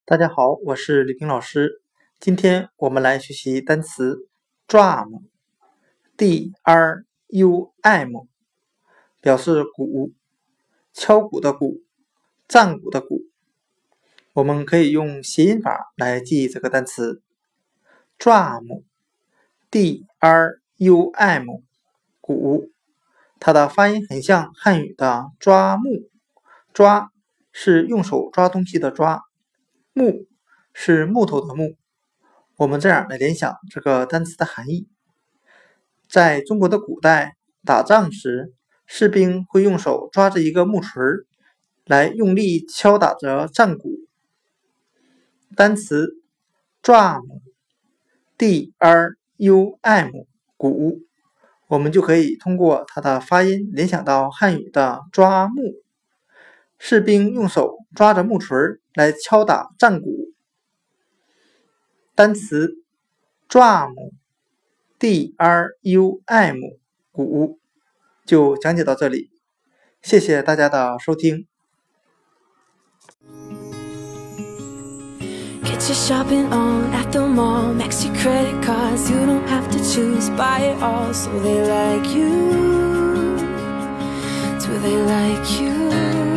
大家好，我是李平老师。今天我们来学习单词 drum， 表示鼓，敲鼓的鼓，战鼓的鼓。我们可以用谐音法来记忆这个单词 drum， 鼓，它的发音很像汉语的抓木，抓是用手抓东西的抓，木是木头的木。我们这样来联想这个单词的含义。在中国的古代，打仗时，士兵会用手抓着一个木锤来用力敲打着战鼓。单词 drum， 鼓，我们就可以通过它的发音联想到汉语的抓木。士兵用手抓着木锤来敲打战鼓。单词 drum， 鼓就讲解到这里，谢谢大家的收听。 Get your shopping on at the mall, max your credit cards, you don't have to choose, buy it all, so they like you, do they like you?